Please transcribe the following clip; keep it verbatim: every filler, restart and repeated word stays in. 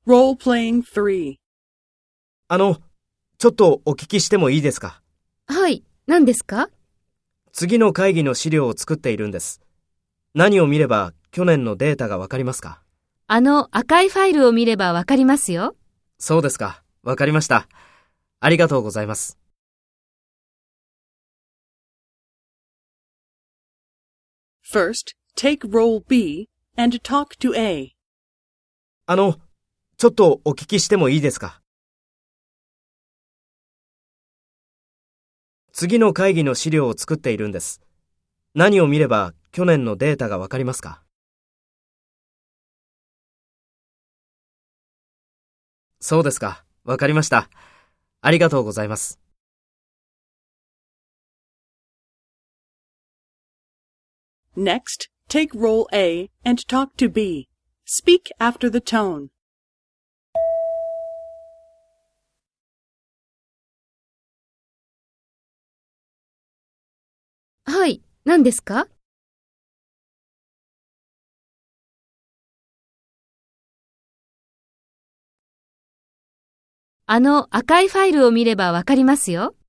Role-playing three. あの、ちょっとお聞きしてもいいですか？ はい、何ですか？ 次の会議の資料を作っているんです。何を見れば去年のデータがわかりますか？ あの赤いファイルを見ればわかりますよ。 そうですか。わかりました。ありがとうございます。 First, take role B and talk to A. あの、ちょっとお聞きしてもいいですか？次の会議の資料を作っているんです。何を見れば去年のデータがわかりますか？そうですか。わかりました。ありがとうございます。 Next, take role A and talk to B. Speak after the tone. はい、何ですか？あの赤いファイルを見ればわかりますよ。